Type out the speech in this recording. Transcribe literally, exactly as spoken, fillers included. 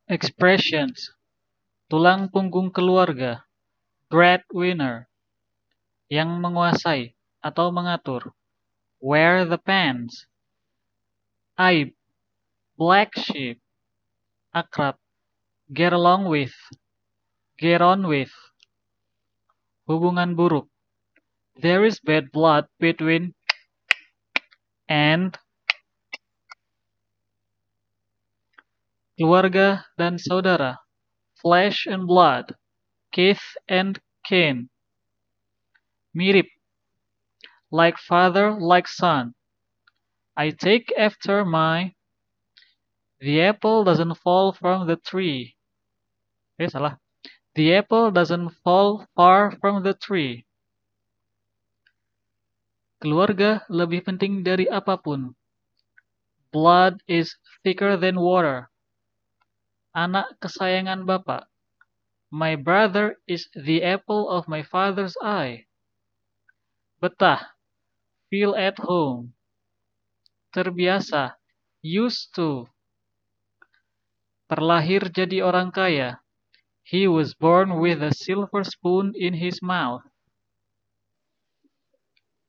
Expressions. Tulang punggung keluarga. Breadwinner. Yang menguasai atau mengatur. Wear the pants. Aib. Black sheep. Akrab. Get along with. Get on with. Hubungan buruk. There is bad blood between and. Keluarga dan saudara. Flesh and blood. Kith and kin. Mirip. Like father, like son. I take after my. The apple doesn't fall from the tree. Eh, salah. The apple doesn't fall far from the tree. Keluarga lebih penting dari apapun. Blood is thicker than water. Anak kesayangan bapak. My brother is the apple of my father's eye. Betah. Feel at home. Terbiasa. Used to. Terlahir jadi orang kaya. He was born with a silver spoon in his mouth.